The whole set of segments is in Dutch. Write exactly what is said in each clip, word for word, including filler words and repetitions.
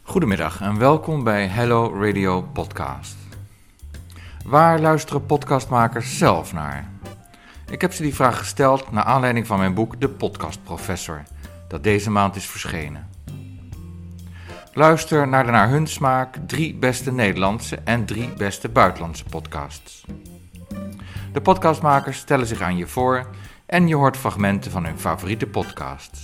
Goedemiddag en welkom bij Hello Radio Podcast. Waar luisteren podcastmakers zelf naar? Ik heb ze die vraag gesteld naar aanleiding van mijn boek De Podcast Professor, dat deze maand is verschenen. Luister naar de naar hun smaak drie beste Nederlandse en drie beste buitenlandse podcasts. De podcastmakers stellen zich aan je voor en je hoort fragmenten van hun favoriete podcasts.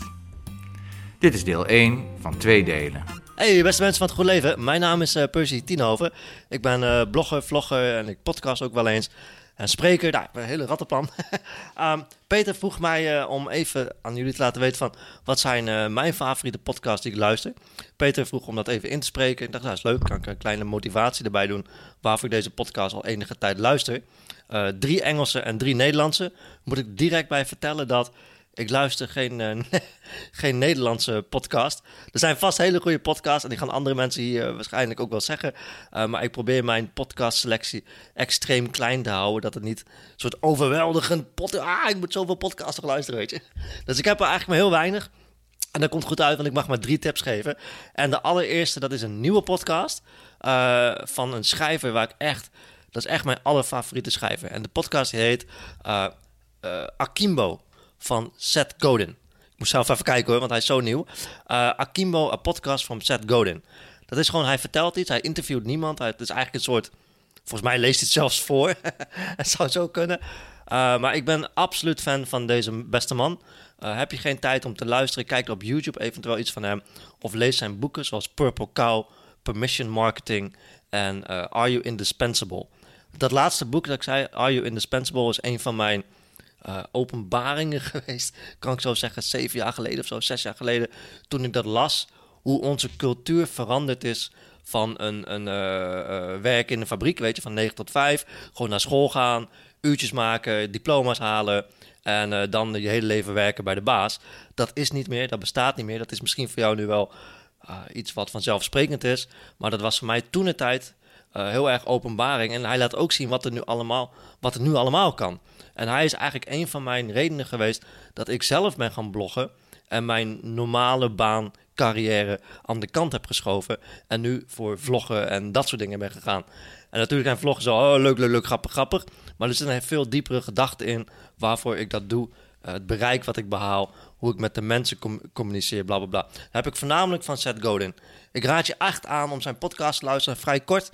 Dit is deel één van twee delen. Hey beste mensen van het Goed Leven, mijn naam is uh, Percy Tienhoven. Ik ben uh, blogger, vlogger en ik podcast ook wel eens. En spreker, nou, ik ben een hele rattenplan. um, Peter vroeg mij uh, om even aan jullie te laten weten van wat zijn uh, mijn favoriete podcasts die ik luister. Peter vroeg om dat even in te spreken. Ik dacht, nou, dat is leuk, kan ik een kleine motivatie erbij doen waarvoor ik deze podcast al enige tijd luister. Uh, drie Engelse en drie Nederlandse. Moet ik direct bij vertellen dat ik luister geen, uh, geen Nederlandse podcast. Er zijn vast hele goede podcasts en die gaan andere mensen hier uh, waarschijnlijk ook wel zeggen. Uh, maar ik probeer mijn podcastselectie extreem klein te houden. Dat het niet een soort overweldigend pod- ah, ik moet zoveel podcasts luisteren, weet je. Dus ik heb er eigenlijk maar heel weinig. En dat komt goed uit, want ik mag maar drie tips geven. En de allereerste, dat is een nieuwe podcast uh, van een schrijver waar ik echt... Dat is echt mijn allerfavoriete schrijver. En de podcast die heet uh, uh, Akimbo van Seth Godin. Ik moest zelf even kijken hoor, want hij is zo nieuw. Uh, Akimbo, a podcast van Seth Godin. Dat is gewoon, hij vertelt iets, hij interviewt niemand. Hij, het is eigenlijk een soort, volgens mij leest hij het zelfs voor. Het zou zo kunnen. Uh, maar ik ben absoluut fan van deze beste man. Uh, heb je geen tijd om te luisteren, kijk op YouTube eventueel iets van hem. Of lees zijn boeken zoals Purple Cow, Permission Marketing en uh, Are You Indispensable. Dat laatste boek dat ik zei, Are You Indispensable, is een van mijn uh, openbaringen geweest. Kan ik zo zeggen, zeven jaar geleden of zo, zes jaar geleden. Toen ik dat las, hoe onze cultuur veranderd is van een, een uh, uh, werk in een fabriek, weet je, van negen tot vijf. Gewoon naar school gaan, uurtjes maken, diploma's halen en uh, dan je hele leven werken bij de baas. Dat is niet meer, dat bestaat niet meer. Dat is misschien voor jou nu wel uh, iets wat vanzelfsprekend is. Maar dat was voor mij toen de tijd Uh, heel erg openbaring. En hij laat ook zien wat er nu allemaal, wat er nu allemaal kan. En hij is eigenlijk een van mijn redenen geweest dat ik zelf ben gaan bloggen en mijn normale baan, carrière aan de kant heb geschoven en nu voor vloggen en dat soort dingen ben gegaan. En natuurlijk zijn vloggen zo, oh, leuk, leuk, leuk, grappig, grappig. Maar er zit een veel diepere gedachte in waarvoor ik dat doe. Uh, het bereik wat ik behaal, hoe ik met de mensen com- communiceer, bla, bla, bla. Dat heb ik voornamelijk van Seth Godin. Ik raad je echt aan om zijn podcast te luisteren, vrij kort.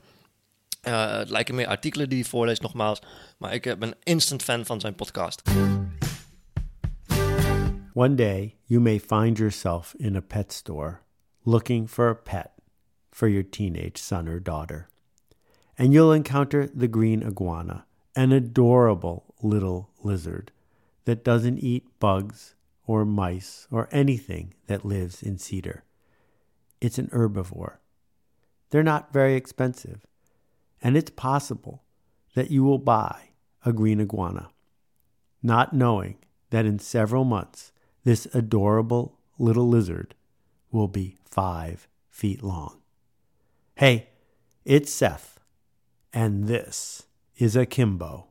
Uh, het lijken meer artikelen die hij voorleest, nogmaals. Maar ik ben instant fan van zijn podcast. One day, you may find yourself in a pet store looking for a pet for your teenage son or daughter. And you'll encounter the green iguana, an adorable little lizard that doesn't eat bugs or mice or anything that lives in cedar. It's an herbivore. They're not very expensive. And it's possible that you will buy a green iguana, not knowing that in several months, this adorable little lizard will be five feet long. Hey, it's Seth, and this is Akimbo.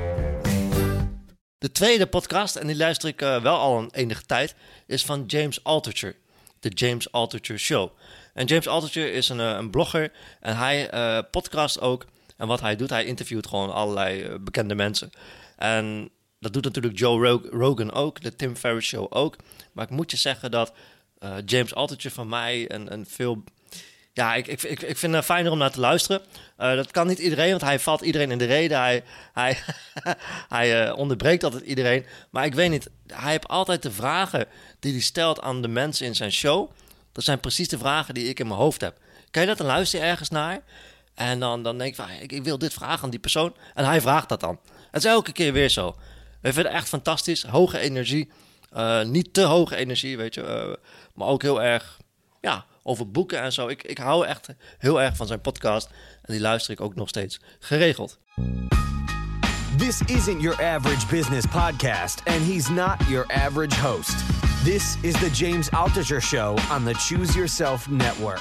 De tweede podcast, en die luister ik uh, wel al een enige tijd, is van James Altucher. De James Altucher Show. En James Altucher is een, een blogger en hij uh, podcast ook. En wat hij doet, hij interviewt gewoon allerlei uh, bekende mensen. En dat doet natuurlijk Joe Rogan ook, de Tim Ferriss Show ook. Maar ik moet je zeggen dat uh, James Altucher van mij een, een veel... Ja, ik, ik, ik, ik vind het fijner om naar te luisteren. Uh, dat kan niet iedereen, want hij valt iedereen in de reden. Hij, hij, hij uh, onderbreekt altijd iedereen. Maar ik weet niet, hij heeft altijd de vragen die hij stelt aan de mensen in zijn show. Dat zijn precies de vragen die ik in mijn hoofd heb. Kan je dat? Dan luister je ergens naar. En dan, dan denk ik van, ik, ik wil dit vragen aan die persoon. En hij vraagt dat dan. Het is elke keer weer zo. Ik vind het echt fantastisch. Hoge energie. Uh, niet te hoge energie, weet je. Uh, maar ook heel erg, ja, over boeken en zo. Ik, ik hou echt heel erg van zijn podcast. En die luister ik ook nog steeds geregeld. This isn't your average business podcast, and he's not your average host. This is the James Altucher Show on the Choose Yourself Network.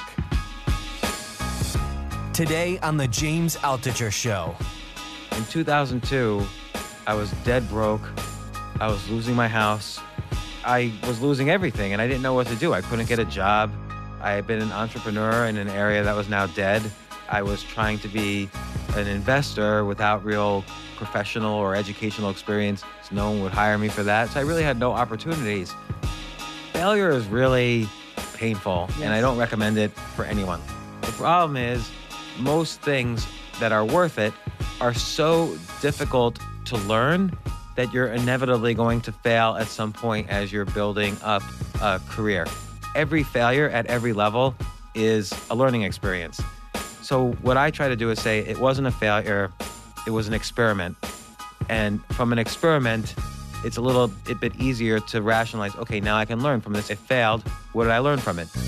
Today on the James Altucher Show. In two thousand two, I was dead broke. I was losing my house. I was losing everything, and I didn't know what to do. I couldn't get a job. I had been an entrepreneur in an area that was now dead. I was trying to be an investor without real professional or educational experience. So no one would hire me for that. So I really had no opportunities. Failure is really painful, yes. And I don't recommend it for anyone. The problem is most things that are worth it are so difficult to learn that you're inevitably going to fail at some point as you're building up a career. Every failure at every level is a learning experience. So what I try to do is say it wasn't a failure, it was an experiment. And from an experiment, it's a little a bit easier to rationalize, okay, now I can learn from this. It failed, what did I learn from it?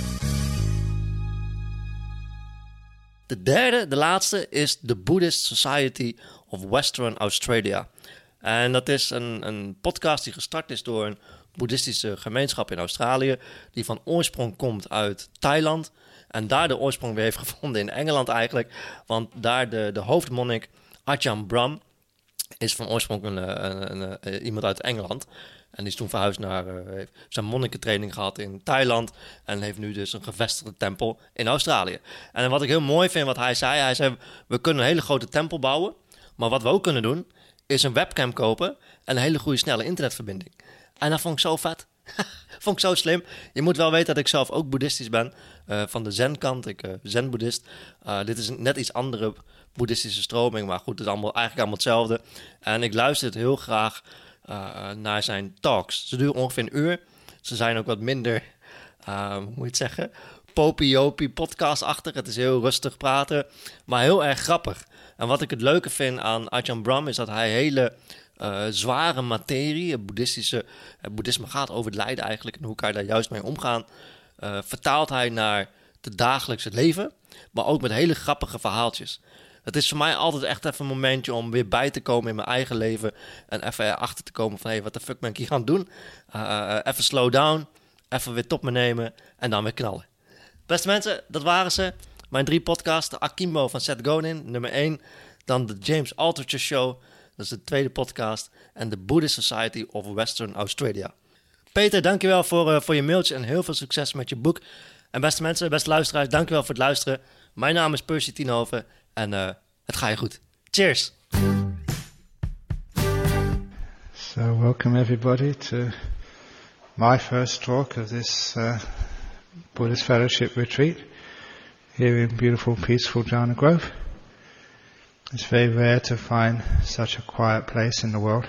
De derde, de laatste, is de Buddhist Society of Western Australia. En dat is een, een podcast die gestart is door een boeddhistische gemeenschap in Australië, die van oorsprong komt uit Thailand en daar de oorsprong weer heeft gevonden in Engeland eigenlijk. Want daar de, de hoofdmonnik Ajahn Brahm is van oorsprong een, een, een, een, iemand uit Engeland. En die is toen verhuisd naar, uh, heeft zijn monnikentraining gehad in Thailand en heeft nu dus een gevestigde tempel in Australië. En wat ik heel mooi vind wat hij zei, hij zei we kunnen een hele grote tempel bouwen, maar wat we ook kunnen doen is een webcam kopen en een hele goede snelle internetverbinding. En dat vond ik zo vet. Vond ik zo slim. Je moet wel weten dat ik zelf ook boeddhistisch ben. Uh, van de zen-kant. Ik uh, zen-boeddhist. Uh, dit is een net iets andere boeddhistische stroming. Maar goed, het is allemaal, eigenlijk allemaal hetzelfde. En ik luister het heel graag uh, naar zijn talks. Ze duren ongeveer een uur. Ze zijn ook wat minder, uh, hoe moet je het zeggen, popie-opie podcast-achtig. Het is heel rustig praten, maar heel erg grappig. En wat ik het leuke vind aan Ajahn Brahm is dat hij hele uh, zware materie, het boeddhistische, het boeddhisme gaat over het lijden eigenlijk en hoe kan je daar juist mee omgaan, uh, vertaalt hij naar het dagelijkse leven, maar ook met hele grappige verhaaltjes. Het is voor mij altijd echt even een momentje om weer bij te komen in mijn eigen leven en even erachter te komen van hé, hey, wat de fuck ben ik hier aan het doen? Uh, uh, even slow down, even weer top me nemen en dan weer knallen. Beste mensen, dat waren ze. Mijn drie podcasts, de Akimbo van Seth Godin, nummer één. Dan de James Altucher Show, dat is de tweede podcast. En de Buddhist Society of Western Australia. Peter, dankjewel voor, uh, voor je mailtje en heel veel succes met je boek. En beste mensen, beste luisteraars, dankjewel voor het luisteren. Mijn naam is Percy Tienhoven en uh, het gaat je goed. Cheers! So welcome everybody to my first talk of this uh, Buddhist Fellowship Retreat here in beautiful, peaceful Jhana Grove. It's very rare to find such a quiet place in the world.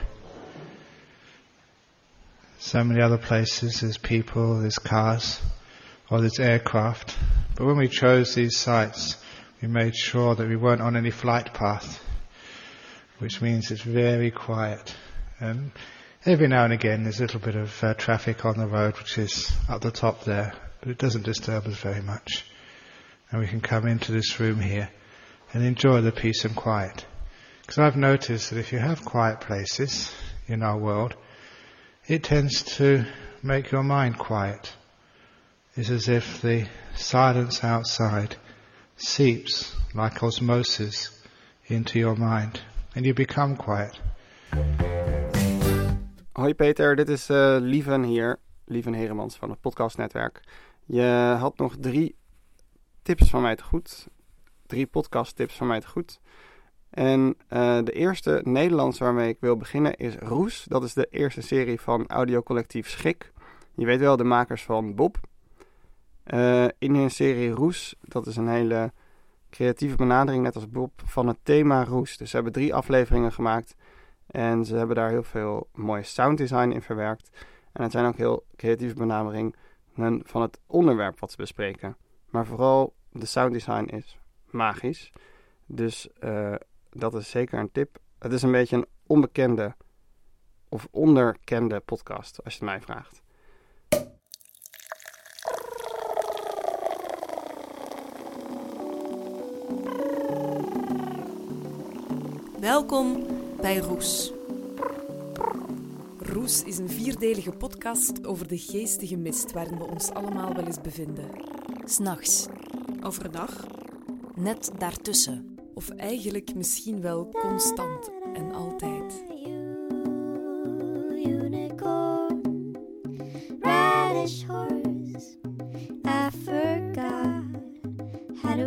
So many other places, there's people, there's cars, or there's aircraft. But when we chose these sites, we made sure that we weren't on any flight path, which means it's very quiet. And every now and again there's a little bit of uh, traffic on the road, which is up the top there, but it doesn't disturb us very much. And we can come into this room here and enjoy the peace and quiet. Because I've noticed that if you have quiet places in our world, it tends to make your mind quiet. It's as if the silence outside seeps like osmosis into your mind and you become quiet. Hoi Peter, dit is uh, Lieven hier, Lieven Heremans van het podcastnetwerk. Je had nog drie tips van mij te goed, drie podcasttips van mij te goed. En uh, de eerste Nederlandse waarmee ik wil beginnen is Roes. Dat is de eerste serie van audiocollectief Schik. Je weet wel, de makers van Bob. Uh, in hun serie Roes, dat is een hele creatieve benadering, net als Bob, van het thema Roes. Dus ze hebben drie afleveringen gemaakt en ze hebben daar heel veel mooie sounddesign in verwerkt. En het zijn ook heel creatieve benaderingen van het onderwerp wat ze bespreken. Maar vooral de sounddesign is magisch. Dus uh, dat is zeker een tip. Het is een beetje een onbekende of onderkende podcast, als je het mij vraagt. Welkom bij Roes. Roes is een vierdelige podcast over de geestige mist waarin we ons allemaal wel eens bevinden. 's Nachts. Overdag. Net daartussen. Of eigenlijk misschien wel constant en altijd. Unicorn, radish horse, I forgot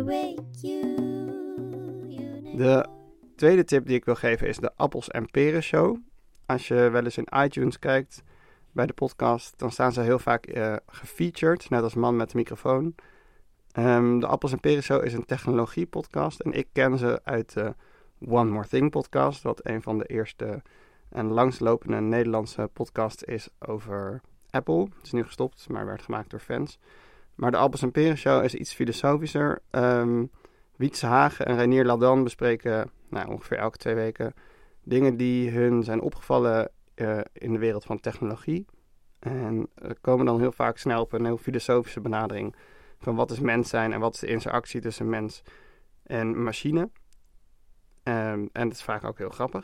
De tweede tip die ik wil geven is de Appels en Peren Show. Als je wel eens in iTunes kijkt bij de podcast, dan staan ze heel vaak uh, gefeatured, net als Man met de microfoon. Um, de Appels en Peren Show is een technologie podcast en ik ken ze uit de One More Thing podcast, wat een van de eerste en langslopende Nederlandse podcasts is over Apple. Het is nu gestopt, maar werd gemaakt door fans. Maar de Appels en Peren Show is iets filosofischer. Um, Wietse Hagen en Reinier Ladan bespreken nou, ongeveer elke twee weken dingen die hun zijn opgevallen uh, in de wereld van technologie. En uh, komen dan heel vaak snel op een heel filosofische benadering van wat is mens zijn en wat is de interactie tussen mens en machine. Um, en dat is vaak ook heel grappig.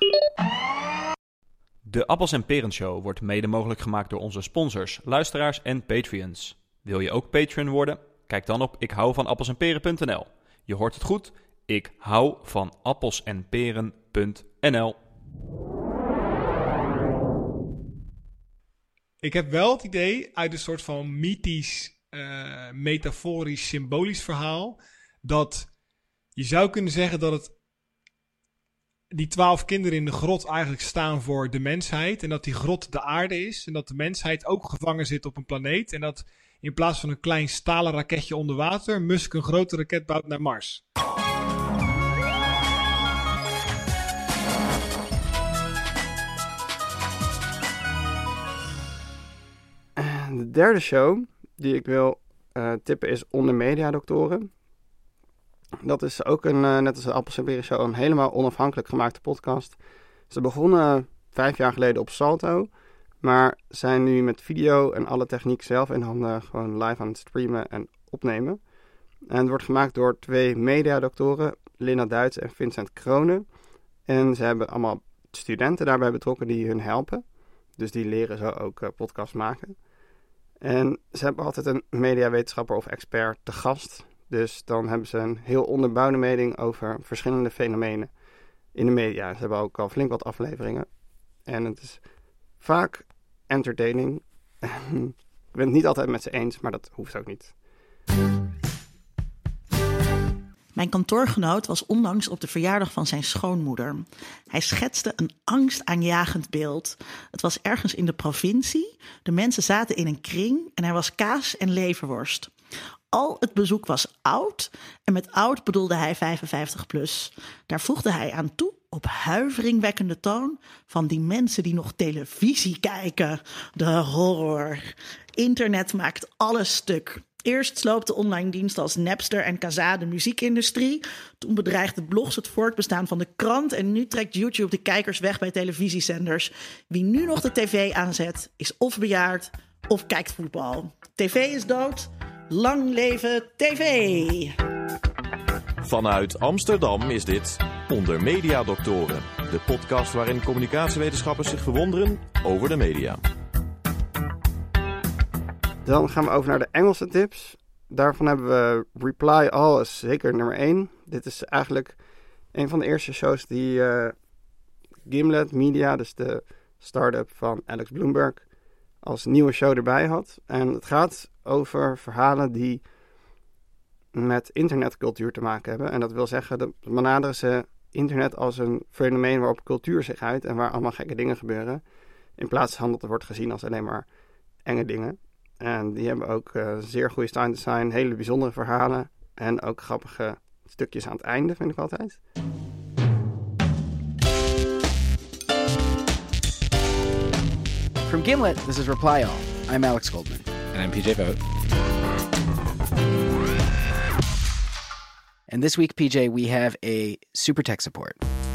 De Appels en Peren Show wordt mede mogelijk gemaakt door onze sponsors, luisteraars en Patreons. Wil je ook Patreon worden? Kijk dan op ik hou van appels en peren punt n l. Je hoort het goed, ik hou van appels en peren punt n l. Ik heb wel het idee uit een soort van mythisch, uh, metaforisch, symbolisch verhaal, dat je zou kunnen zeggen dat het die twaalf kinderen in de grot eigenlijk staan voor de mensheid en dat die grot de aarde is en dat de mensheid ook gevangen zit op een planeet en dat in plaats van een klein stalen raketje onder water Musk een grote raket bouwt naar Mars. De derde show die ik wil uh, tippen is Onder Mediadoktoren. Dat is ook een, uh, net als de Appels en Peren Show, een helemaal onafhankelijk gemaakte podcast. Ze begonnen vijf jaar geleden op Salto, maar zijn nu met video en alle techniek zelf in handen gewoon live aan het streamen en opnemen. En het wordt gemaakt door twee mediadoktoren, Linda Duits en Vincent Kronen. En ze hebben allemaal studenten daarbij betrokken die hun helpen. Dus die leren zo ook uh, podcast maken. En ze hebben altijd een mediawetenschapper of expert te gast. Dus dan hebben ze een heel onderbouwde mening over verschillende fenomenen in de media. Ze hebben ook al flink wat afleveringen. En het is vaak entertaining. Ik ben het niet altijd met ze eens, maar dat hoeft ook niet. Mijn kantoorgenoot was onlangs op de verjaardag van zijn schoonmoeder. Hij schetste een angstaanjagend beeld. Het was ergens in de provincie. De mensen zaten in een kring en er was kaas en leverworst. Al het bezoek was oud en met oud bedoelde hij vijfenvijftig plus. Daar voegde hij aan toe op huiveringwekkende toon van die mensen die nog televisie kijken. De horror. Internet maakt alles stuk. Eerst sloopte online diensten als Napster en Kazaa de muziekindustrie. Toen bedreigden blogs het voortbestaan van de krant. En nu trekt YouTube de kijkers weg bij televisiezenders. Wie nu nog de tv aanzet, is of bejaard of kijkt voetbal. Tv is dood. Lang leven tv! Vanuit Amsterdam is dit Onder Mediadoktoren. De podcast waarin communicatiewetenschappers zich verwonderen over de media. Dan gaan we over naar de Engelse tips. Daarvan hebben we Reply All is zeker nummer één. Dit is eigenlijk een van de eerste shows die uh, Gimlet Media, dus de start-up van Alex Bloomberg, als nieuwe show erbij had. En het gaat over verhalen die met internetcultuur te maken hebben. En dat wil zeggen, dat benaderen ze internet als een fenomeen waarop cultuur zich uit en waar allemaal gekke dingen gebeuren. In plaats van dat er wordt gezien als alleen maar enge dingen. En die hebben ook uh, zeer goede sound design, hele bijzondere verhalen en ook grappige stukjes aan het einde, vind ik altijd. From Gimlet, this is Reply All. I'm Alex Goldman. And I'm P J Vogt. And this week, P J, we have a super tech support.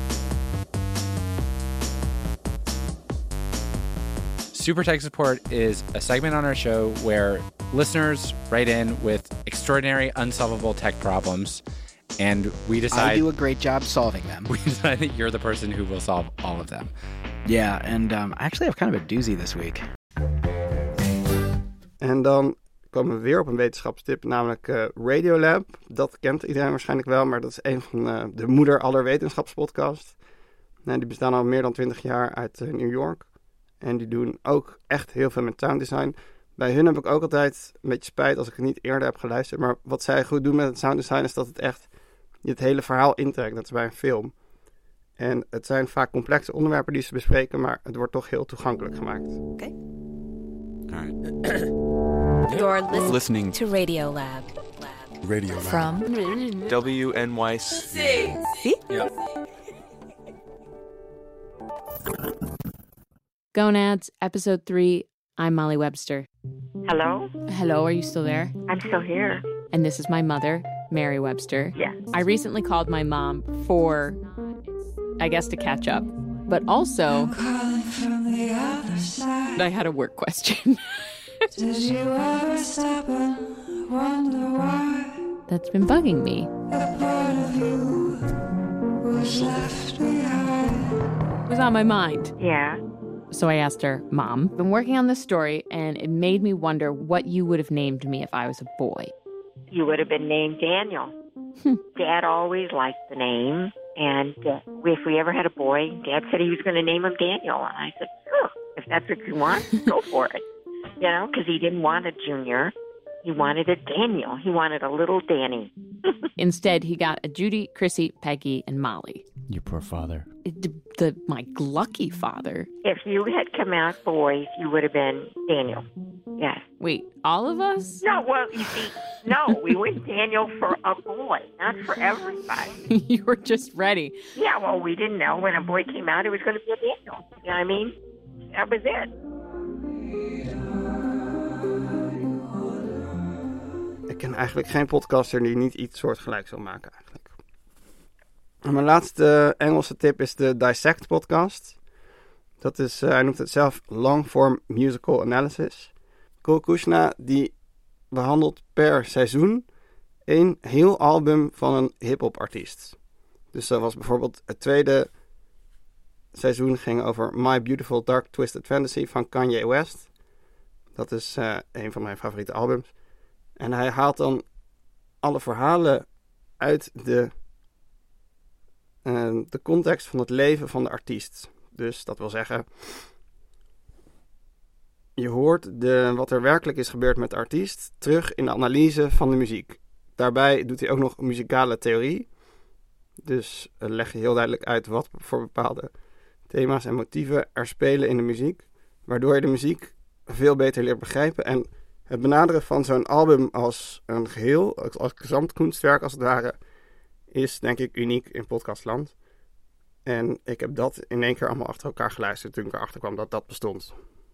Super Tech Support is a segment on our show where listeners write in with extraordinary, unsolvable tech problems, and we decide... I do a great job solving them. We decide that you're the person who will solve all of them. Yeah, and um, I actually have kind of a doozy this week. En dan komen we weer op een wetenschapstip, namelijk uh, Radiolab. Dat kent iedereen waarschijnlijk wel, maar dat is een van uh, de moeder aller wetenschapspodcasts. Nou, die bestaan al meer dan twintig jaar uit uh, New York. En die doen ook echt heel veel met sound design. Bij hun heb ik ook altijd een beetje spijt als ik het niet eerder heb geluisterd. Maar wat zij goed doen met het sound design is dat het echt het hele verhaal intrekt. Dat is bij een film. En het zijn vaak complexe onderwerpen die ze bespreken, maar het wordt toch heel toegankelijk gemaakt. Oké. You're lis- listening to Radio Lab. Radio Lab. From W N Y C. See? Yeah. Gonads, episode three. I'm Molly Webster. Hello? Hello, are you still there? I'm still here. And this is my mother, Mary Webster. Yeah. I recently called my mom for, I guess, to catch up, but also I had a work question. Did you ever stop and wonder why That's been bugging me. a part of you was left behind? It was on my mind. Yeah. So I asked her, Mom, I've been working on this story, and it made me wonder what you would have named me if I was a boy. You would have been named Daniel. Dad always liked the name. And uh, if we ever had a boy, Dad said he was going to name him Daniel. And I said, sure, if that's what you want, go for it. You know, because he didn't want a junior. He wanted a Daniel. He wanted a little Danny. Instead, he got a Judy, Chrissy, Peggy, and Molly. Your poor father. The, the, my lucky father. If you had come out boys, you would have been Daniel. Yes. Wait, all of us? No, well, you see, no, we went Daniel for a boy, not for everybody. You were just ready. Yeah, well, we didn't know when a boy came out it was going to be a Daniel. You know what I mean? That was it. Ik ken eigenlijk geen podcaster die niet iets soortgelijks wil maken eigenlijk. En mijn laatste Engelse tip is de Dissect podcast. Dat is, uh, hij noemt het zelf long form musical analysis. Cole Kushna die behandelt per seizoen één heel album van een hip-hop artiest. Dus dat was bijvoorbeeld het tweede seizoen ging over My Beautiful Dark Twisted Fantasy van Kanye West. Dat is uh, een van mijn favoriete albums. En hij haalt dan alle verhalen uit de, uh, de context van het leven van de artiest. Dus dat wil zeggen, je hoort de, wat er werkelijk is gebeurd met de artiest terug in de analyse van de muziek. Daarbij doet hij ook nog muzikale theorie. Dus uh, leg je heel duidelijk uit wat voor bepaalde thema's en motieven er spelen in de muziek. Waardoor je de muziek veel beter leert begrijpen. En het benaderen van zo'n album als een geheel, als, als gezamtkunstwerk als het ware, is denk ik uniek in podcastland. En ik heb dat in één keer allemaal achter elkaar geluisterd toen ik erachter kwam dat dat bestond.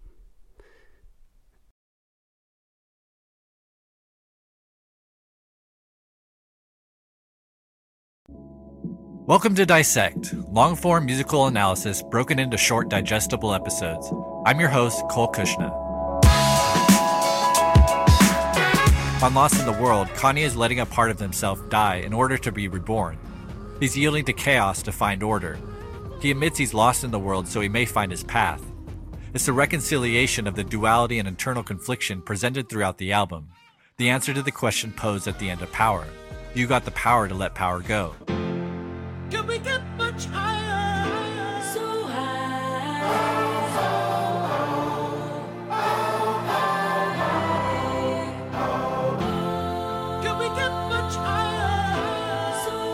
Welcome to Dissect, long-form musical analysis broken into short, digestible episodes. I'm your host, Cole Kushna. On Lost in the World, Kanye is letting a part of himself die in order to be reborn. He's yielding to chaos to find order. He admits he's lost in the world so he may find his path. It's the reconciliation of the duality and internal confliction presented throughout the album. The answer to the question posed at the end of Power. You got the power to let power go. Can we get much higher? So high. Can we get much higher? So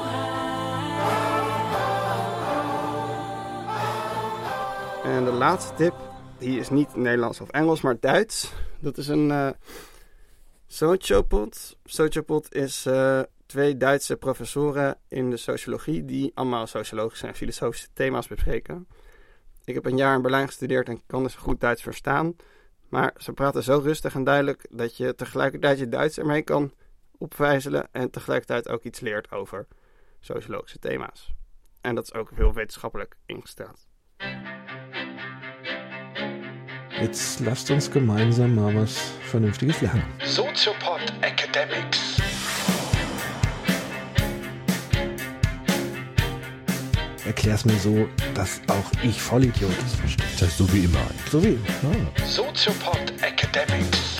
high. En de laatste tip, die is niet Nederlands of Engels, maar Duits. Dat is een uh, sociopod. Sociopod is uh, twee Duitse professoren in de sociologie die allemaal sociologische en filosofische thema's bespreken. Ik heb een jaar in Berlijn gestudeerd en kan dus goed Duits verstaan. Maar ze praten zo rustig en duidelijk dat je tegelijkertijd je Duits ermee kan opvijzelen en tegelijkertijd ook iets leert over sociologische thema's. En dat is ook heel wetenschappelijk ingesteld. Jetzt lasst uns gemeinsam mal was Vernünftiges lernen. Soziopod Academics. Erklär's mir so, dass auch ich Vollidiot es verstehe. Das heißt so wie immer. So wie immer. Ah. Soziopod Academics.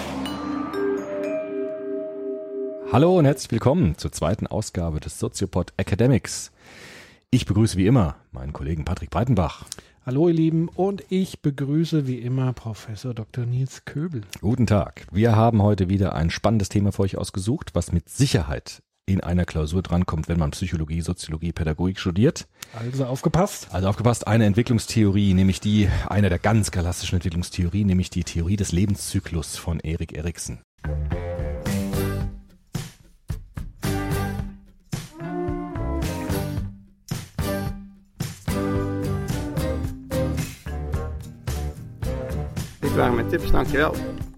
Hallo und herzlich willkommen zur zweiten Ausgabe des Soziopod Academics. Ich begrüße wie immer meinen Kollegen Patrick Breitenbach. Hallo ihr Lieben und ich begrüße wie immer Professor Doktor Nils Köbel. Guten Tag. Wir haben heute wieder ein spannendes Thema für euch ausgesucht, was mit Sicherheit in einer Klausur drankommt, wenn man Psychologie, Soziologie, Pädagogik studiert. Also aufgepasst. Also aufgepasst, eine Entwicklungstheorie, nämlich die, eine der ganz klassischen Entwicklungstheorien, nämlich die Theorie des Lebenszyklus von Erik Erikson. Dit waren mijn tips, dankjewel.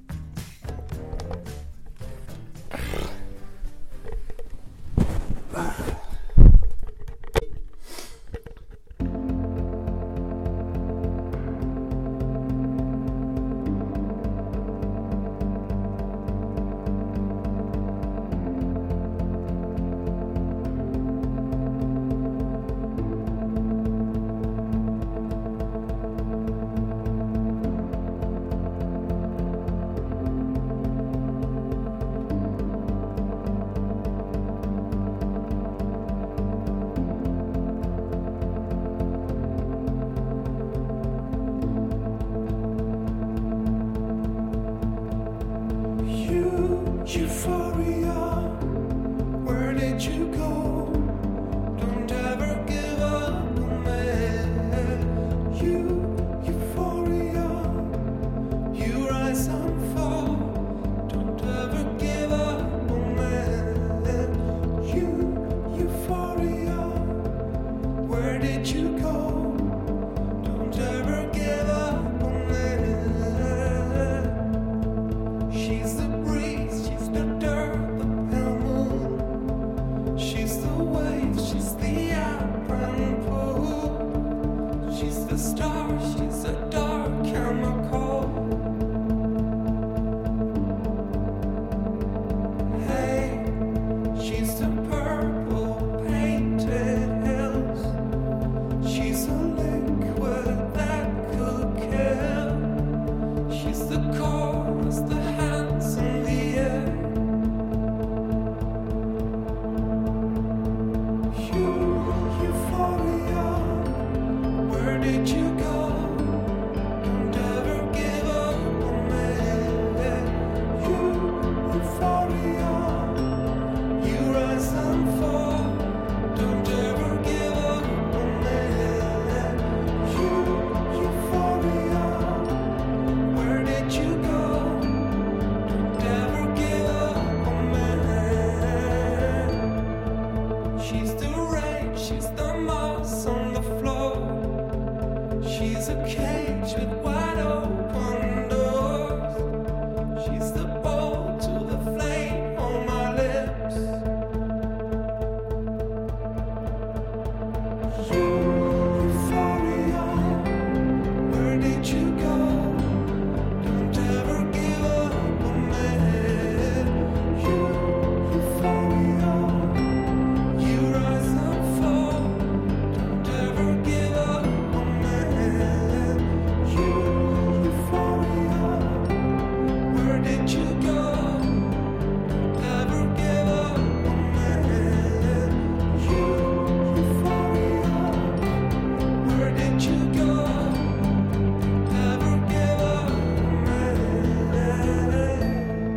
Euphoria, where did you go? Don't ever give up on me. You, euphoria, you rise and fall. Don't ever give up on me. You, euphoria, where did you go? Don't ever give up on me. She's the breeze, she's the dirt, the pale moon. She's the wave, she's the apron pool. She's the star, she's a dark chemical. Hey, she's the purple painted hills. She's a liquid that could kill. She's the chorus, the hands in the air. You, euphoria, where did you go? Don't ever give up on me. You, euphoria, you rise and fall. Don't ever give up on me. You, euphoria, where did you go? Don't ever give up on me. She's the rain, she's the moss on the floor. She's a cage with wide open doors. She's the bowl to the flame on my lips. You, euphoria, where did you go? Don't ever give up on me. You, euphoria, you rise and fall. Don't ever give up on me. You, euphoria, where did you go? Don't ever give up on me. You, euphoria, where did you go? Don't ever give up on me.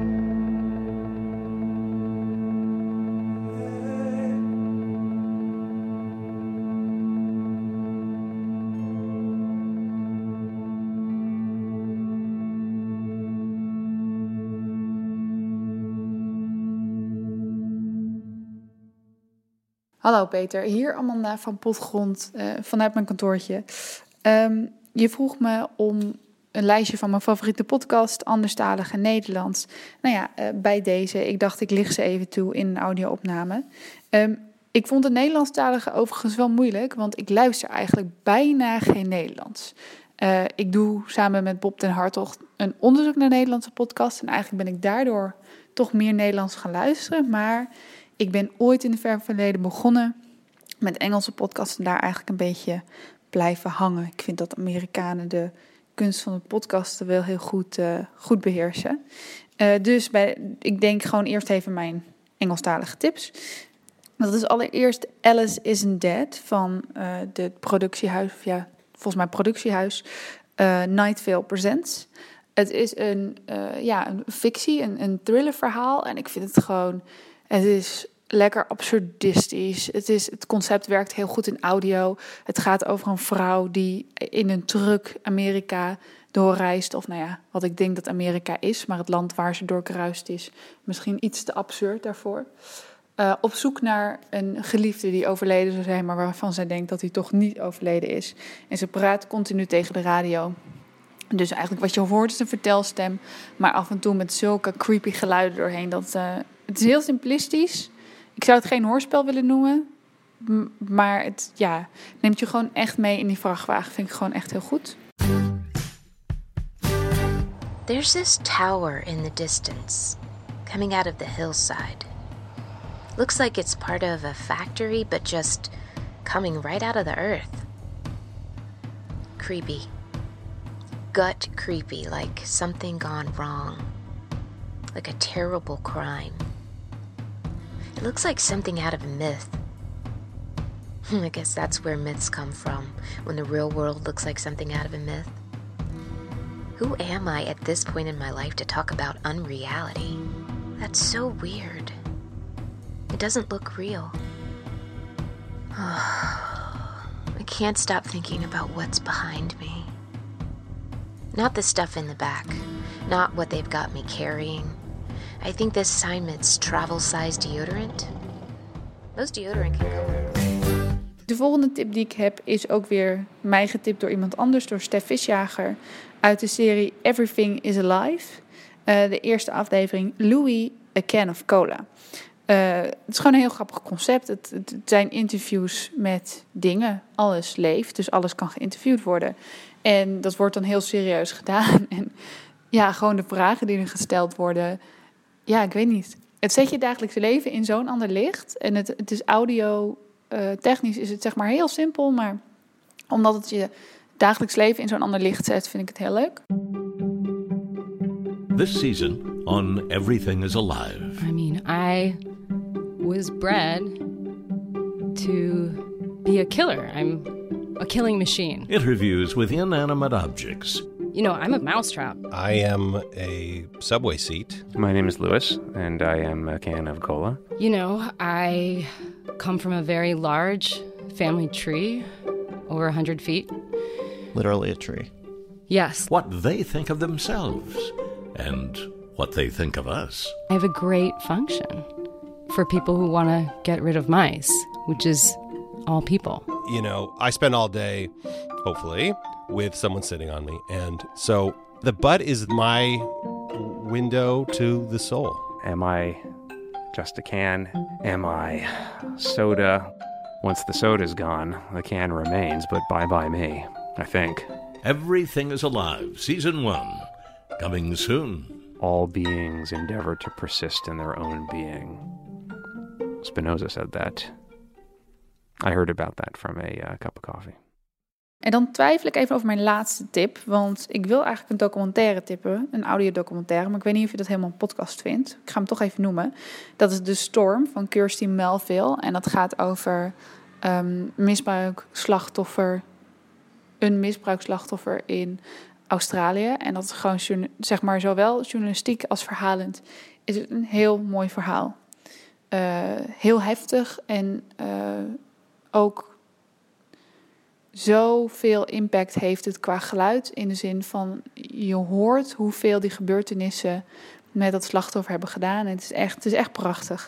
Hallo Peter, hier Amanda van Potgrond uh, vanuit mijn kantoortje. Um, je vroeg me om een lijstje van mijn favoriete podcast, anderstalig en Nederlands. Nou ja, uh, bij deze, ik dacht ik licht ze even toe in een audio-opname. Um, ik vond het Nederlandstalige overigens wel moeilijk, want ik luister eigenlijk bijna geen Nederlands. Uh, ik doe samen met Bob den Hartog een onderzoek naar Nederlandse podcasts en eigenlijk ben ik daardoor toch meer Nederlands gaan luisteren, maar ik ben ooit in het ver verleden begonnen met Engelse podcasts en daar eigenlijk een beetje blijven hangen. Ik vind dat Amerikanen de kunst van het podcasten wel heel goed, uh, goed beheersen. Uh, dus bij, ik denk gewoon eerst even mijn Engelstalige tips. Dat is allereerst Alice Isn't Dead van uh, de productiehuis, of ja, volgens mij productiehuis, uh, Night Vale Presents. Het is een, uh, ja, een fictie, een, een thrillerverhaal. En ik vind het gewoon, het is lekker absurdistisch. Het, is, het concept werkt heel goed in audio. Het gaat over een vrouw die in een truck Amerika doorreist. Of nou ja, wat ik denk dat Amerika is. Maar het land waar ze doorkruist is misschien iets te absurd daarvoor. Uh, op zoek naar een geliefde die overleden zou zijn, maar waarvan zij denkt dat hij toch niet overleden is. En ze praat continu tegen de radio. Dus eigenlijk wat je hoort is een vertelstem, maar af en toe met zulke creepy geluiden doorheen. Dat, uh, het is heel simplistisch. Ik zou het geen hoorspel willen noemen, m- maar het ja, neemt je gewoon echt mee in die vrachtwagen. Vind ik gewoon echt heel goed. There's this tower in the distance, coming out of the hillside. Looks like it's part of a factory, but just coming right out of the earth. Creepy. Gut creepy, like something gone wrong. Like a terrible crime. It looks like something out of a myth. I guess that's where myths come from, when the real world looks like something out of a myth. Who am I at this point in my life to talk about unreality? That's so weird. It doesn't look real. I can't stop thinking about what's behind me. Not the stuff in the back. Not what they've got me carrying. I think this assignment's travel-sized deodorant. Those deodorant can go in. De volgende tip die ik heb is ook weer mij getipt door iemand anders, door Stef Visjager, uit de serie Everything is Alive. Uh, de eerste aflevering, Louis, A Can of Cola. Uh, het is gewoon een heel grappig concept. Het, het, het zijn interviews met dingen. Alles leeft, dus alles kan geïnterviewd worden. En dat wordt dan heel serieus gedaan. En ja, gewoon de vragen die er gesteld worden. Ja, ik weet niet. Het zet je dagelijkse leven in zo'n ander licht. En het, het is audio, uh, technisch is het zeg maar heel simpel. Maar omdat het je dagelijks leven in zo'n ander licht zet, vind ik het heel leuk. This season on Everything is Alive. I mean, I was bred to be a killer. I'm a killing machine. Interviews with inanimate objects. You know, I'm a mousetrap. I am a subway seat. My name is Louis, and I am a can of cola. You know, I come from a very large family tree, over one hundred feet. Literally a tree. Yes. What they think of themselves and what they think of us. I have a great function for people who want to get rid of mice, which is all people. You know, I spend all day, hopefully, with someone sitting on me. And so the butt is my window to the soul. Am I just a can? Am I soda? Once the soda's gone, the can remains, but bye-bye me, I think. Everything is Alive, Season one, coming soon. All beings endeavor to persist in their own being. Spinoza said that. I heard about that from a uh, cup of coffee. En dan twijfel ik even over mijn laatste tip, want ik wil eigenlijk een documentaire tippen, een audiodocumentaire, maar ik weet niet of je dat helemaal een podcast vindt. Ik ga hem toch even noemen. Dat is The Storm van Kirsty Melville en dat gaat over um, misbruikslachtoffer, een misbruikslachtoffer in Australië. En dat is gewoon, zeg maar, zowel journalistiek als verhalend is het een heel mooi verhaal. Uh, heel heftig en uh, ook zoveel impact heeft het qua geluid. In de zin van, je hoort hoeveel die gebeurtenissen met dat slachtoffer hebben gedaan. En het is echt, het is echt prachtig.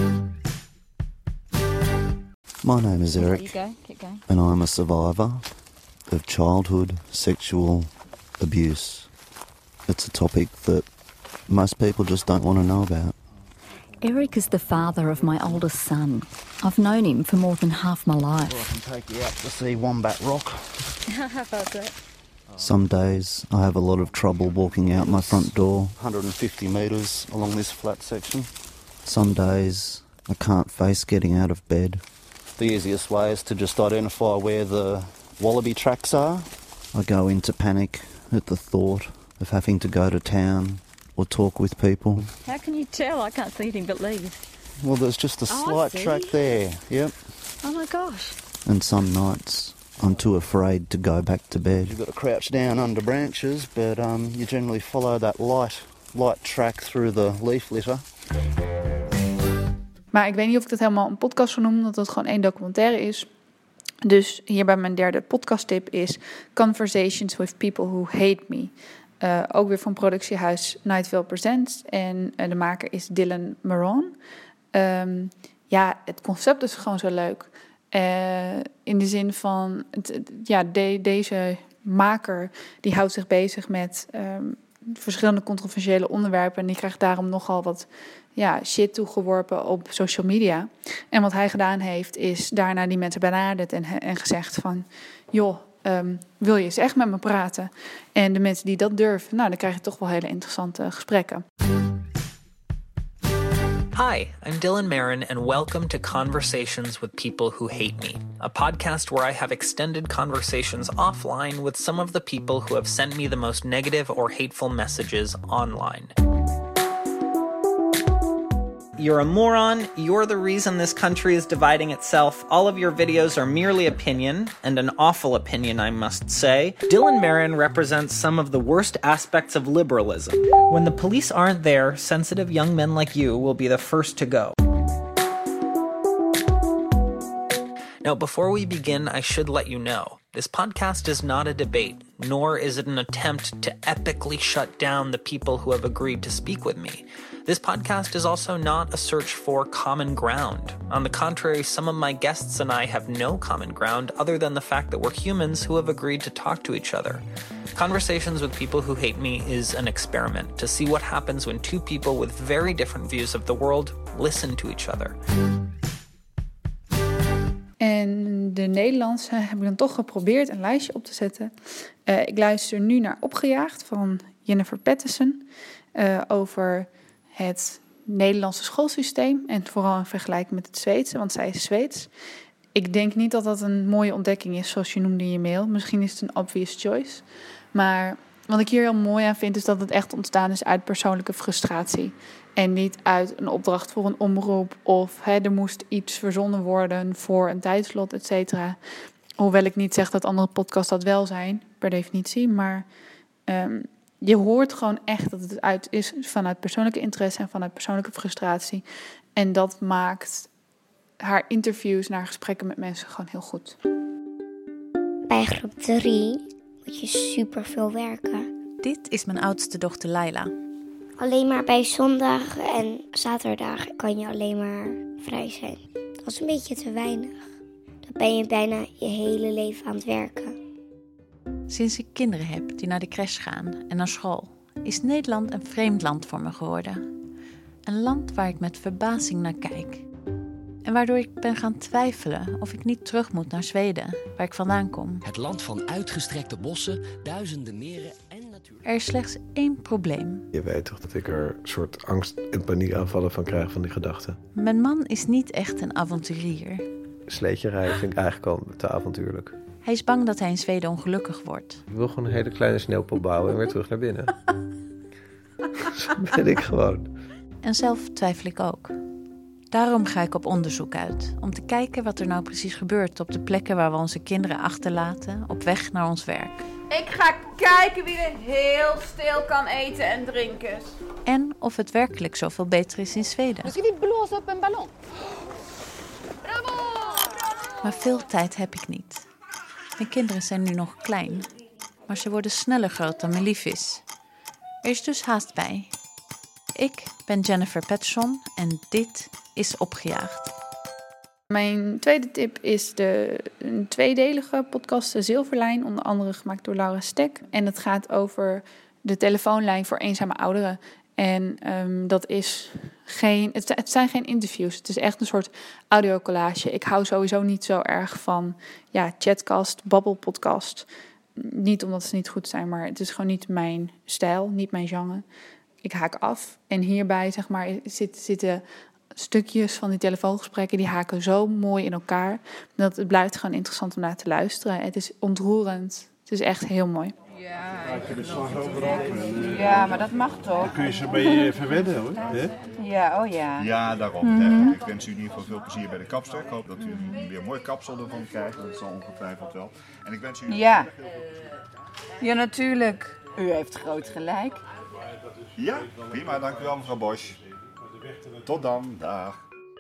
My name is Eric, Keep going, keep going. and I'm a survivor of childhood sexual abuse. It's a topic that most people just don't want to know about. Eric is the father of my oldest son. I've known him for more than half my life. Well, I can take you out to see Wombat Rock. How about that? Some days I have a lot of trouble walking out my front door. one hundred fifty metres along this flat section. Some days I can't face getting out of bed. The easiest way is to just identify where the wallaby tracks are. I go into panic at the thought of having to go to town or talk with people. How can you tell? I can't see anything but leaves. Well, there's just a Oh, I slight see. track there, yep. Oh my gosh. And some nights I'm too afraid to go back to bed. You've got to crouch down under branches, but um, you generally follow that light, light track through the leaf litter. Maar ik weet niet of ik dat helemaal een podcast zou noemen, omdat het gewoon één documentaire is. Dus hierbij mijn derde podcasttip is Conversations with People Who Hate Me. Uh, ook weer van productiehuis Night Vale Presents. En uh, de maker is Dylan Moran. Um, ja, het concept is gewoon zo leuk. Uh, in de zin van, het, het, ja, de, deze maker die houdt zich bezig met um, verschillende controversiële onderwerpen. En die krijgt daarom nogal wat ja, shit toegeworpen op social media. En wat hij gedaan heeft, is daarna die mensen benaderd en, en gezegd van, joh, um, wil je eens echt met me praten? En de mensen die dat durven, nou, dan krijg je toch wel hele interessante gesprekken. Hi, I'm Dylan Marin, and welcome to Conversations with People Who Hate Me, a podcast where I have extended conversations offline with some of the people who have sent me the most negative or hateful messages online. You're a moron, you're the reason this country is dividing itself, all of your videos are merely opinion, and an awful opinion I must say. Dylan Marin represents some of the worst aspects of liberalism. When the police aren't there, sensitive young men like you will be the first to go. Now, before we begin, I should let you know, this podcast is not a debate, nor is it an attempt to epically shut down the people who have agreed to speak with me. This podcast is also not a search for common ground. On the contrary, some of my guests and I have no common ground other than the fact that we're humans who have agreed to talk to each other. Conversations with People Who Hate Me is an experiment to see what happens when two people with very different views of the world listen to each other. En de Nederlandse heb ik dan toch geprobeerd een lijstje op te zetten. Uh, ik luister nu naar Opgejaagd van Jennifer Patterson uh, over het Nederlandse schoolsysteem en vooral in vergelijking met het Zweedse, want zij is Zweeds. Ik denk niet dat dat een mooie ontdekking is, zoals je noemde in je mail. Misschien is het een obvious choice. Maar wat ik hier heel mooi aan vind, is dat het echt ontstaan is uit persoonlijke frustratie. En niet uit een opdracht voor een omroep of hè, er moest iets verzonnen worden voor een tijdslot, et cetera. Hoewel ik niet zeg dat andere podcasts dat wel zijn, per definitie. Maar um, je hoort gewoon echt dat het uit is vanuit persoonlijke interesse en vanuit persoonlijke frustratie. En dat maakt haar interviews naar gesprekken met mensen gewoon heel goed. Bij groep drie moet je superveel werken. Dit is mijn oudste dochter Laila. Alleen maar bij zondag en zaterdag kan je alleen maar vrij zijn. Dat is een beetje te weinig. Dan ben je bijna je hele leven aan het werken. Sinds ik kinderen heb die naar de crash gaan en naar school, is Nederland een vreemd land voor me geworden. Een land waar ik met verbazing naar kijk. En waardoor ik ben gaan twijfelen of ik niet terug moet naar Zweden, waar ik vandaan kom. Het land van uitgestrekte bossen, duizenden meren en natuur. Er is slechts één probleem. Je weet toch dat ik er een soort angst- en paniekaanvallen van krijg van die gedachten. Mijn man is niet echt een avonturier. Sleetje rijden vind ik eigenlijk al te avontuurlijk. Hij is bang dat hij in Zweden ongelukkig wordt. Ik wil gewoon een hele kleine sneeuwpop bouwen en weer terug naar binnen. Zo ben ik gewoon. En zelf twijfel ik ook. Daarom ga ik op onderzoek uit, om te kijken wat er nou precies gebeurt op de plekken waar we onze kinderen achterlaten op weg naar ons werk. Ik ga kijken wie er heel stil kan eten en drinken. En of het werkelijk zoveel beter is in Zweden. Misschien niet blozen op een ballon. Bravo! Maar veel tijd heb ik niet. Mijn kinderen zijn nu nog klein, maar ze worden sneller groot dan mijn lief is. Er is dus haast bij. Ik ben Jennifer Patterson en dit is Opgejaagd. Mijn tweede tip is de een tweedelige podcast De Zilverlijn, onder andere gemaakt door Laura Stek. En het gaat over de telefoonlijn voor eenzame ouderen. En um, dat is geen, het, het zijn geen interviews, het is echt een soort audiocollage. Ik hou sowieso niet zo erg van ja, chatcast, babbelpodcast. Niet omdat ze niet goed zijn, maar het is gewoon niet mijn stijl, niet mijn genre. Ik haak af. En hierbij zeg maar, zit, zitten stukjes van die telefoongesprekken, die haken zo mooi in elkaar, dat het blijft gewoon interessant om naar te luisteren. Het is ontroerend. Het is echt heel mooi. Ja, Laat je de slagroom erop. En, uh, ja, maar dat mag toch? Dan kun je ze bij je verwennen hoor. Hè? Ja, oh ja. Ja, daarom. Mhm. Ik wens u in ieder geval veel plezier bij de kapster. Ik hoop dat u weer een mooi kapsel ervan krijgt. Dat zal ongetwijfeld wel. En ik wens u... Ja. Ja, natuurlijk. U heeft groot gelijk. Ja, prima. Dank u wel, mevrouw Bosch. Tot dan. Dag.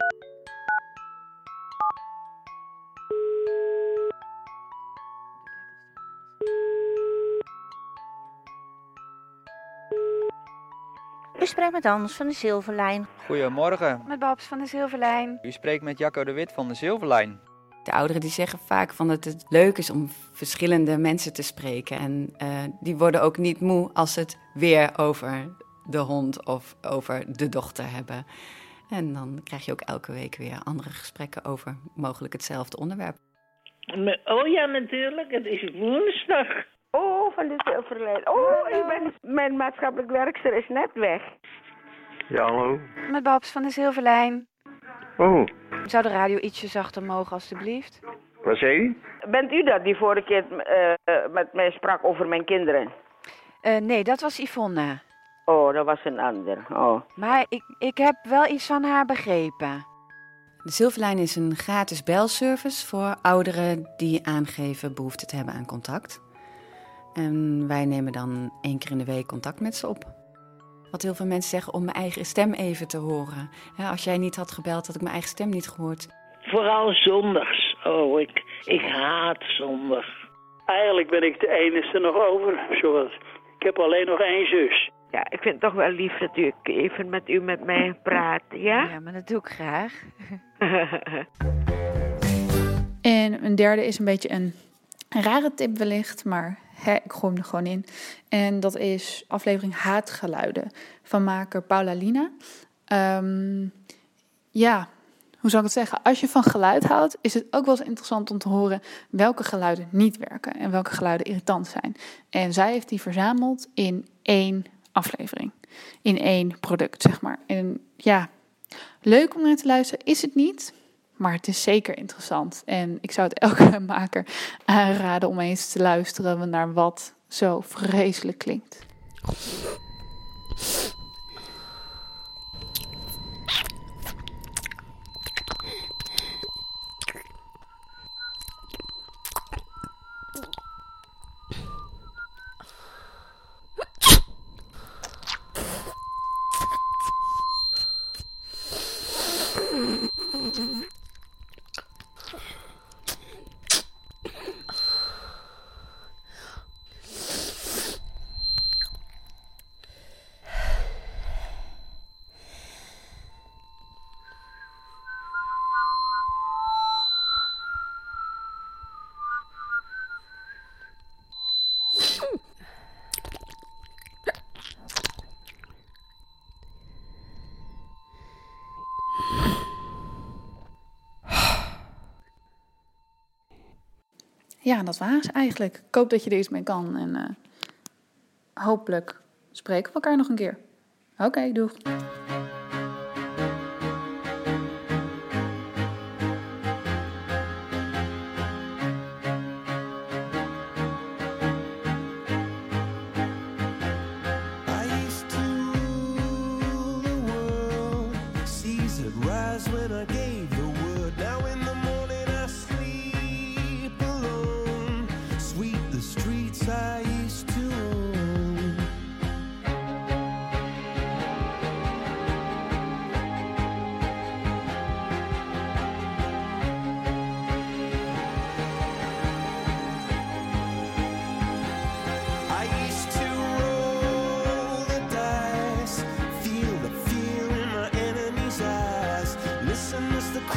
U spreekt met Anders van de Zilverlijn. Goedemorgen. Met Babs van de Zilverlijn. U spreekt met Jacco de Wit van de Zilverlijn. De ouderen die zeggen vaak van dat het leuk is om verschillende mensen te spreken. En uh, die worden ook niet moe als ze het weer over de hond of over de dochter hebben. En dan krijg je ook elke week weer andere gesprekken over mogelijk hetzelfde onderwerp. Oh ja, natuurlijk. Het is woensdag. Oh, van de Zilverlijn. Oh, ik ben, mijn maatschappelijk werkster is net weg. Ja, hallo. Met Babs van de Zilverlijn. Oh. Zou de radio ietsje zachter mogen, alstublieft? Wat zei u? Bent u dat die vorige keer uh, met mij sprak over mijn kinderen? Uh, nee, dat was Yvonne. Oh, dat was een ander. Oh. Maar ik, ik heb wel iets van haar begrepen. De Zilverlijn is een gratis belservice voor ouderen die aangeven behoefte te hebben aan contact. En wij nemen dan één keer in de week contact met ze op. Wat heel veel mensen zeggen om mijn eigen stem even te horen. Ja, als jij niet had gebeld, had ik mijn eigen stem niet gehoord. Vooral zondags. Oh, ik, ik haat zondag. Eigenlijk ben ik de enige nog over. Zoals. Ik heb alleen nog één zus. Ja, ik vind het toch wel lief dat u even met u met mij praat, ja? Ja, maar dat doe ik graag. En een derde is een beetje een rare tip wellicht, maar hè, ik gooi hem er gewoon in. En dat is aflevering Haatgeluiden van maker Paula Lina. Um, ja, hoe zou ik het zeggen? Als je van geluid houdt, is het ook wel eens interessant om te horen welke geluiden niet werken en welke geluiden irritant zijn. En zij heeft die verzameld in één aflevering. In één product, zeg maar. En ja, leuk om naar te luisteren is het niet, maar het is zeker interessant. En ik zou het elke maker aanraden om eens te luisteren naar wat zo vreselijk klinkt. Ja, dat was eigenlijk. Ik hoop dat je er iets mee kan. En uh, hopelijk spreken we elkaar nog een keer. Oké, okay, doeg. The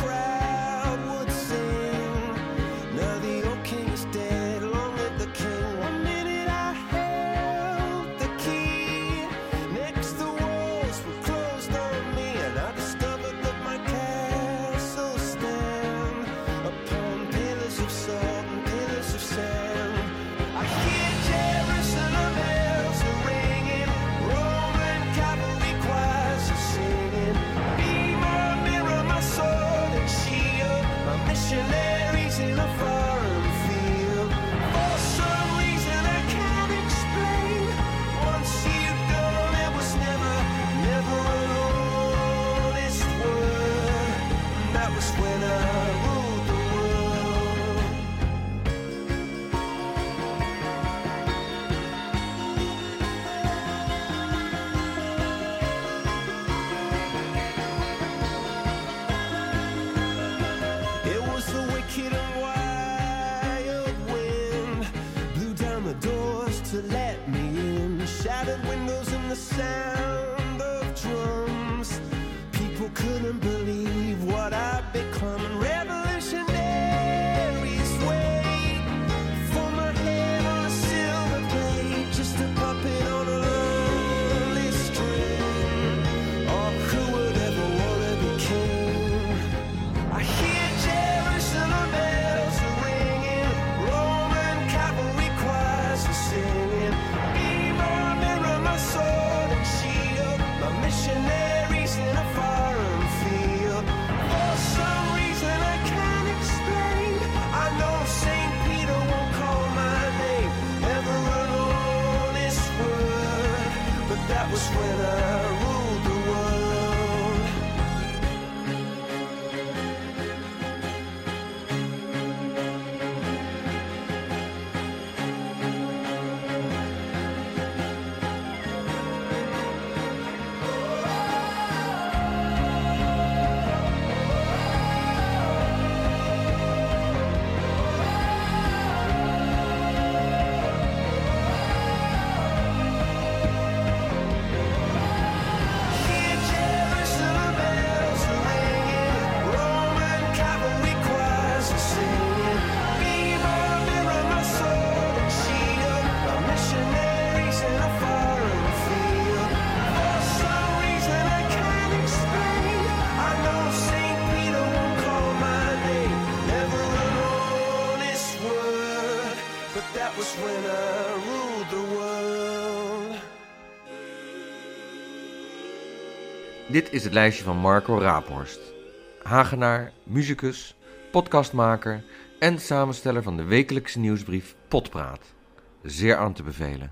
was when I ruled the world. It was the wicked and wild wind blew down the doors to let me in, shattered windows and the sound of drums. People couldn't believe what I'd become, and revolutionaries wait for my head on a silver plate, just a puppet on a lonely string. Oh, who would ever wanna be king? I hear Jerusalem bells are ringing, Roman cavalry choirs are singing. Be my mirror, my sword and shield, my missionaries in a foreign field. For some reason I can't explain, I know Saint Peter won't call my name, never an honest word, but that was when I ruled the world. Hear Jerusalem bells are ringing, Roman cavalry choirs are singing. Be my mirror, my sword and shield, my missionaries in a foreign field. For some reason I can't explain, I know Saint Peter won't call my name, never an honest word, but that was when I ruled the world. Dit is het lijstje van Marco Raaphorst. Hagenaar, musicus, podcastmaker en samensteller van de wekelijkse nieuwsbrief Potpraat. Zeer aan te bevelen.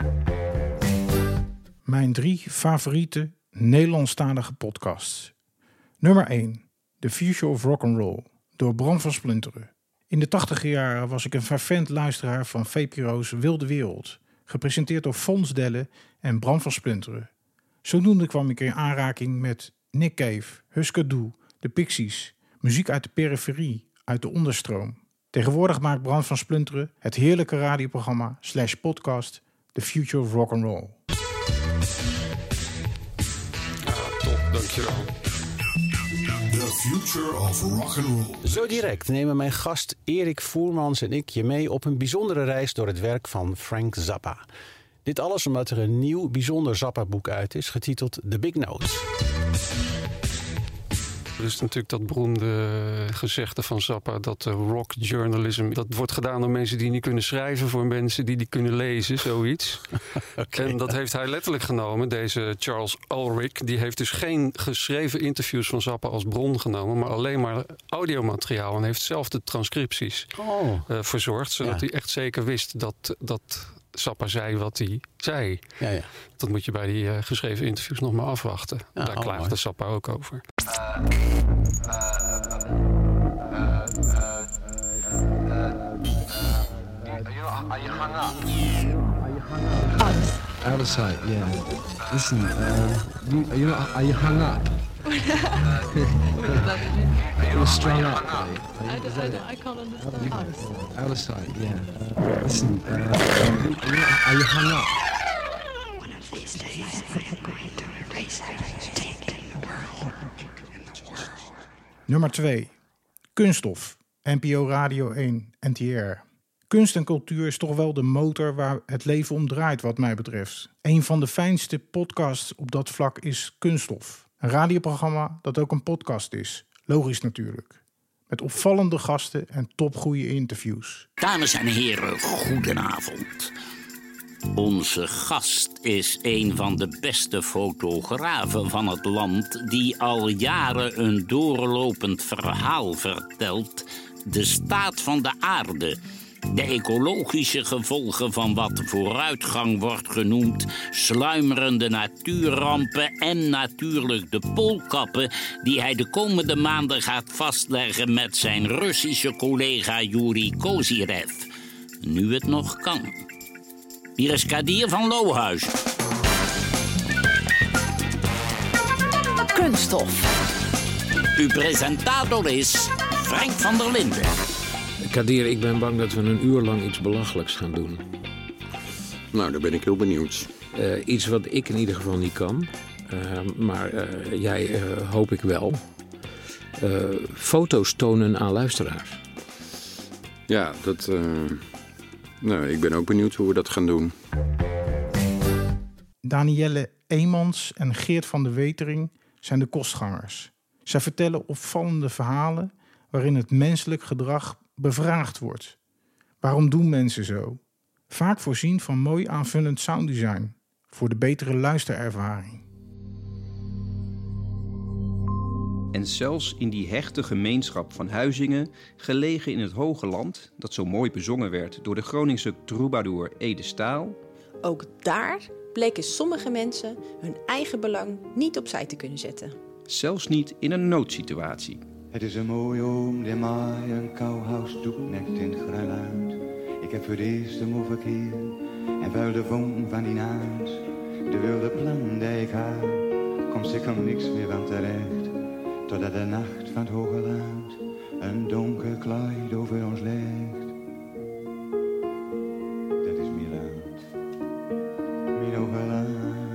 Mijn drie favoriete Nederlandstalige podcasts. Nummer één. The Future of Rock'n'Roll door Bram van Splunteren. In de tachtiger jaren was ik een fervent luisteraar van V P R O's Wilde Wereld, gepresenteerd door Fons Delle en Bram van Splunteren. Zodoende kwam ik in aanraking met Nick Cave, Husker Du, de Pixies, muziek uit de periferie, uit de onderstroom. Tegenwoordig maakt Bram van Splunteren het heerlijke radioprogramma slash podcast The Future of Rock'n'Roll. Ah, top, dankjewel. The Future of Rock'n'Roll. Zo direct nemen mijn gast Erik Voermans en ik je mee op een bijzondere reis door het werk van Frank Zappa. Dit alles omdat er een nieuw bijzonder Zappa-boek uit is, getiteld The Big Note. Er is natuurlijk dat beroemde gezegde van Zappa dat uh, rock journalism, dat wordt gedaan door mensen die niet kunnen schrijven voor mensen die die kunnen lezen, zoiets. Okay, en dat ja. heeft hij letterlijk genomen, deze Charles Ulrich. Die heeft dus geen geschreven interviews van Zappa als bron genomen, maar alleen maar audiomateriaal en heeft zelf de transcripties oh. uh, verzorgd, zodat ja. hij echt zeker wist dat, dat Zappa zei wat hij zei. Ja, ja. Dat moet je bij die uh, geschreven interviews nog maar afwachten. Ja, Daar oh, klaagde mooi. Zappa ook over. Uh, uh, uh, uh, uh, uh, are you hung up? Are you hung up? Out of sight, yeah. Listen, uh, you, are, you, are you hung up? You're strung up. I, I, I can't understand. Out of sight, yeah. Uh, listen, uh, are you hung up? One of these days I am going to erase everything in the world. Nummer twee. Kunststof. N P O Radio één, N T R. Kunst en cultuur is toch wel de motor waar het leven om draait wat mij betreft. Een van de fijnste podcasts op dat vlak is Kunststof. Een radioprogramma dat ook een podcast is. Logisch natuurlijk. Met opvallende gasten en topgoeie interviews. Dames en heren, goedenavond. Onze gast is een van de beste fotografen van het land, die al jaren een doorlopend verhaal vertelt. De staat van de aarde. De ecologische gevolgen van wat vooruitgang wordt genoemd, sluimerende natuurrampen en natuurlijk de poolkappen die hij de komende maanden gaat vastleggen met zijn Russische collega Yuri Kozyrev. Nu het nog kan. Hier is Kadir van Lohuis. Kunststof. Uw presentator is Frank van der Linden. Kadir, ik ben bang dat we een uur lang iets belachelijks gaan doen. Nou, daar ben ik heel benieuwd. Uh, iets wat ik in ieder geval niet kan. Uh, maar uh, jij uh, hoop ik wel. Uh, foto's tonen aan luisteraars. Ja, dat... Uh... Nou, ik ben ook benieuwd hoe we dat gaan doen. Danielle Eemans en Geert van de Wetering zijn de kostgangers. Zij vertellen opvallende verhalen waarin het menselijk gedrag bevraagd wordt. Waarom doen mensen zo? Vaak voorzien van mooi aanvullend sounddesign voor de betere luisterervaring. En zelfs in die hechte gemeenschap van Huizingen, gelegen in het Hoge Land, dat zo mooi bezongen werd door de Groningse troubadour Ede Staal. Ook daar bleken sommige mensen hun eigen belang niet opzij te kunnen zetten. Zelfs niet in een noodsituatie. Het is een mooie oom die mij een kouhuis toeknekt in het gruiluid. Ik heb voor de eerste moe verkeer en vuil de vonk van die naad. De wilde plan die ik had, komt zeker niks meer van terecht. Totdat de nacht van het hoge land een donker kleid over ons legt. Dat is mijn land, mijn hoge land.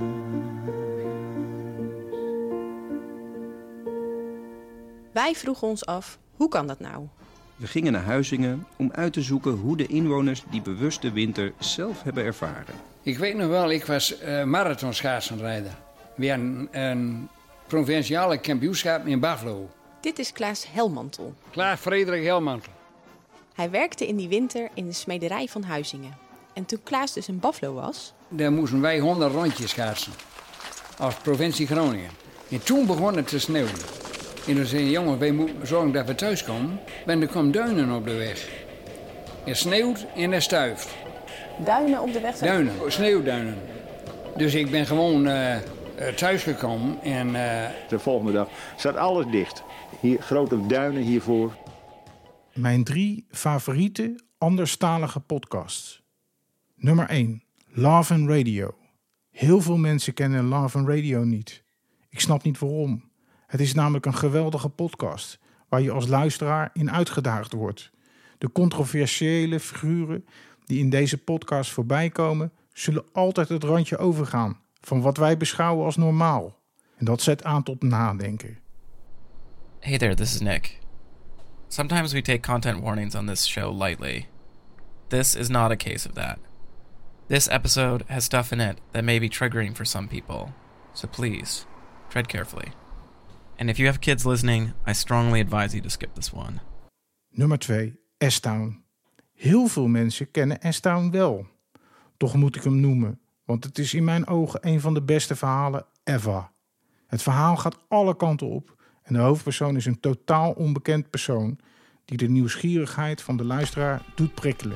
Wij vroegen ons af, hoe kan dat nou? We gingen naar Huizingen om uit te zoeken hoe de inwoners die bewuste winter zelf hebben ervaren. Ik weet nog wel, ik was uh, marathonschaatsenrijder. Weer een, een provinciale kampioenschap in Buffalo. Dit is Klaas Helmantel. Klaas Frederik Helmantel. Hij werkte in die winter in de smederij van Huizingen. En toen Klaas dus in Buffalo was... Daar moesten wij honderd rondjes schaatsen. Als provincie Groningen. En toen begon het te sneeuwen. En toen zei de jongen, wij moeten zorgen dat we thuis komen. Want er komen duinen op de weg. Er sneeuwt en er stuift. Duinen op de weg? Duinen, sneeuwduinen. Dus ik ben gewoon uh, thuisgekomen en... Uh... De volgende dag zat alles dicht. Hier, grote duinen hiervoor. Mijn drie favoriete anderstalige podcasts. Nummer één. Love and Radio. Heel veel mensen kennen Love and Radio niet. Ik snap niet waarom. Het is namelijk een geweldige podcast waar je als luisteraar in uitgedaagd wordt. De controversiële figuren die in deze podcast voorbij komen, zullen altijd het randje overgaan van wat wij beschouwen als normaal. En dat zet aan tot nadenken. Hey there, this is Nick. Sometimes we take content warnings on this show lightly. This is not a case of that. This episode has stuff in it that may be triggering for some people. So please, tread carefully. And if you have kids listening, I strongly advise you to skip this one. Nummer twee. S-Town. Heel veel mensen kennen S-Town wel. Toch moet ik hem noemen, want het is in mijn ogen een van de beste verhalen ever. Het verhaal gaat alle kanten op en de hoofdpersoon is een totaal onbekend persoon die de nieuwsgierigheid van de luisteraar doet prikkelen.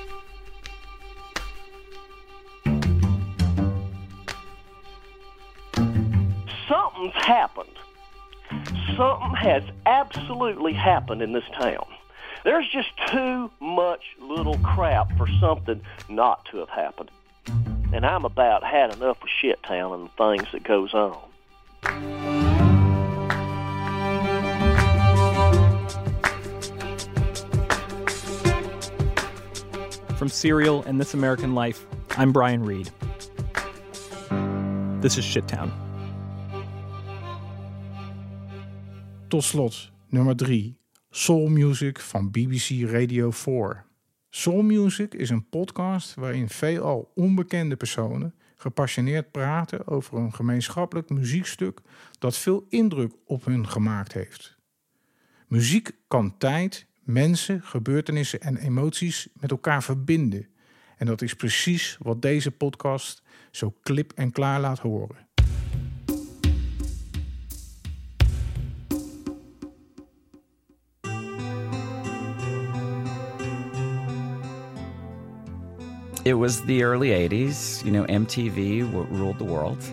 Something's happened. Something has absolutely happened in this town. There's just too much little crap for something not to have happened. And I'm about had enough of shit town and the things that goes on. From Serial and This American Life, I'm Brian Reed. This is Shittown. Tot slot, nummer drie. Soul Music van B B C Radio vier. Soul Music is een podcast waarin veelal onbekende personen gepassioneerd praten over een gemeenschappelijk muziekstuk dat veel indruk op hun gemaakt heeft. Muziek kan tijd, mensen, gebeurtenissen en emoties met elkaar verbinden. En dat is precies wat deze podcast zo klip en klaar laat horen. it was the early eighties. You know, M T V w- ruled the world.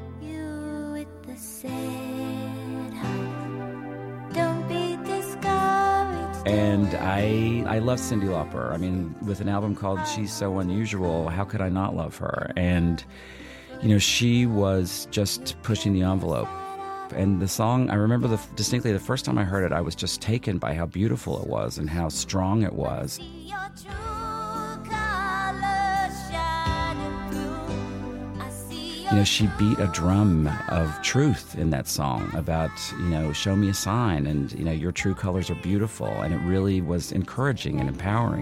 And I I love Cyndi Lauper. I mean, with an album called She's So Unusual, how could I not love her? And, you know, she was just pushing the envelope. And the song, I remember the, distinctly the first time I heard it, I was just taken by how beautiful it was and how strong it was. You know, she beat a drum of truth in that song about, you know, show me a sign and, you know, your true colors are beautiful. And it really was encouraging and empowering.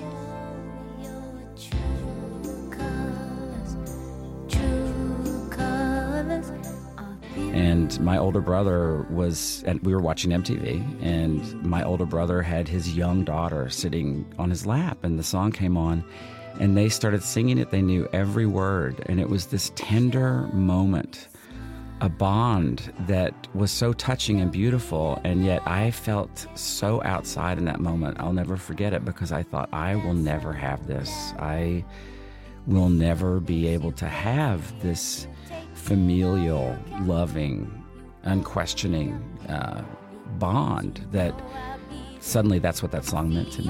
And my older brother was, and we were watching M T V, and my older brother had his young daughter sitting on his lap, and the song came on. And they started singing it. They knew every word. And it was this tender moment, a bond that was so touching and beautiful. And yet I felt so outside in that moment. I'll never forget it because I thought, I will never have this. I will never be able to have this familial, loving, unquestioning uh, bond that suddenly that's what that song meant to me.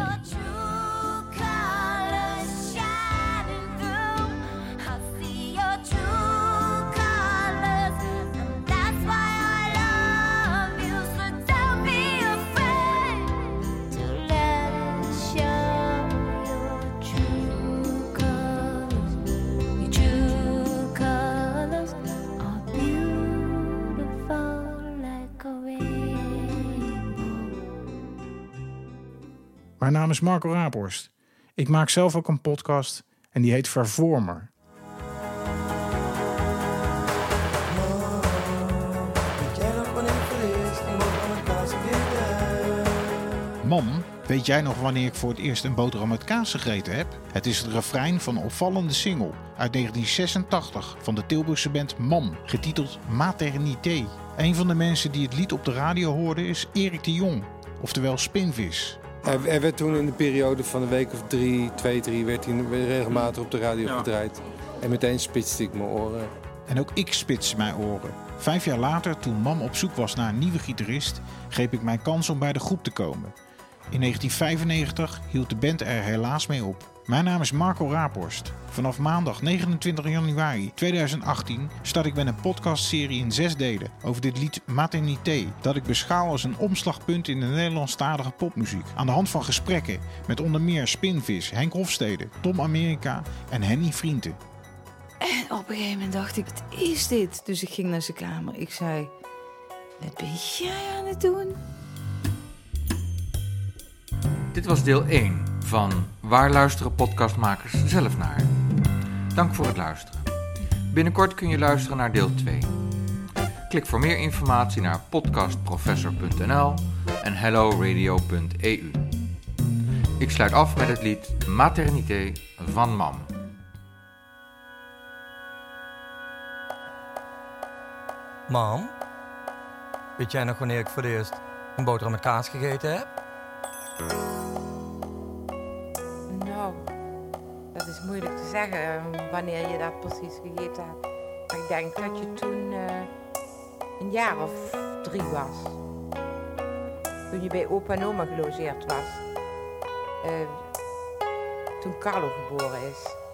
Mijn naam is Marco Raaphorst. Ik maak zelf ook een podcast en die heet Vervormer. Mam, weet jij nog wanneer ik voor het eerst een boterham met kaas gegeten heb? Het is het refrein van een opvallende single uit negentien zesentachtig van de Tilburgse band Mam, getiteld Maternité. Een van de mensen die het lied op de radio hoorde is Erik de Jong, oftewel Spinvis. Er werd toen in de periode van een week of drie, twee, drie, werd hij regelmatig op de radio ja. gedraaid. En meteen spitste ik mijn oren. En ook ik spitste mijn oren. Vijf jaar later, toen Mam op zoek was naar een nieuwe gitarist, greep ik mijn kans om bij de groep te komen. In negentien vijfennegentig hield de band er helaas mee op. Mijn naam is Marco Raaphorst. Vanaf maandag negenentwintig januari tweeduizend achttien start ik met een podcastserie in zes delen over dit lied Maternité, dat ik beschouw als een omslagpunt in de Nederlandstalige popmuziek. Aan de hand van gesprekken met onder meer Spinvis, Henk Hofstede, Tom Amerika en Henny Vrienden. En op een gegeven moment dacht ik, wat is dit? Dus ik ging naar zijn kamer. Ik zei, wat ben jij aan het doen? Dit was deel één van Waar luisteren podcastmakers zelf naar? Dank voor het luisteren. Binnenkort kun je luisteren naar deel twee. Klik voor meer informatie naar podcastprofessor punt n l en hello radio punt e u. Ik sluit af met het lied Maternité van Mam. Mam, weet jij nog wanneer ik voor het eerst een boterham met kaas gegeten heb? Nou, dat is moeilijk te zeggen wanneer je dat precies gegeten hebt. Maar ik denk dat je toen uh, een jaar of drie was. Toen je bij opa en oma gelogeerd was. Uh, toen Carlo geboren is.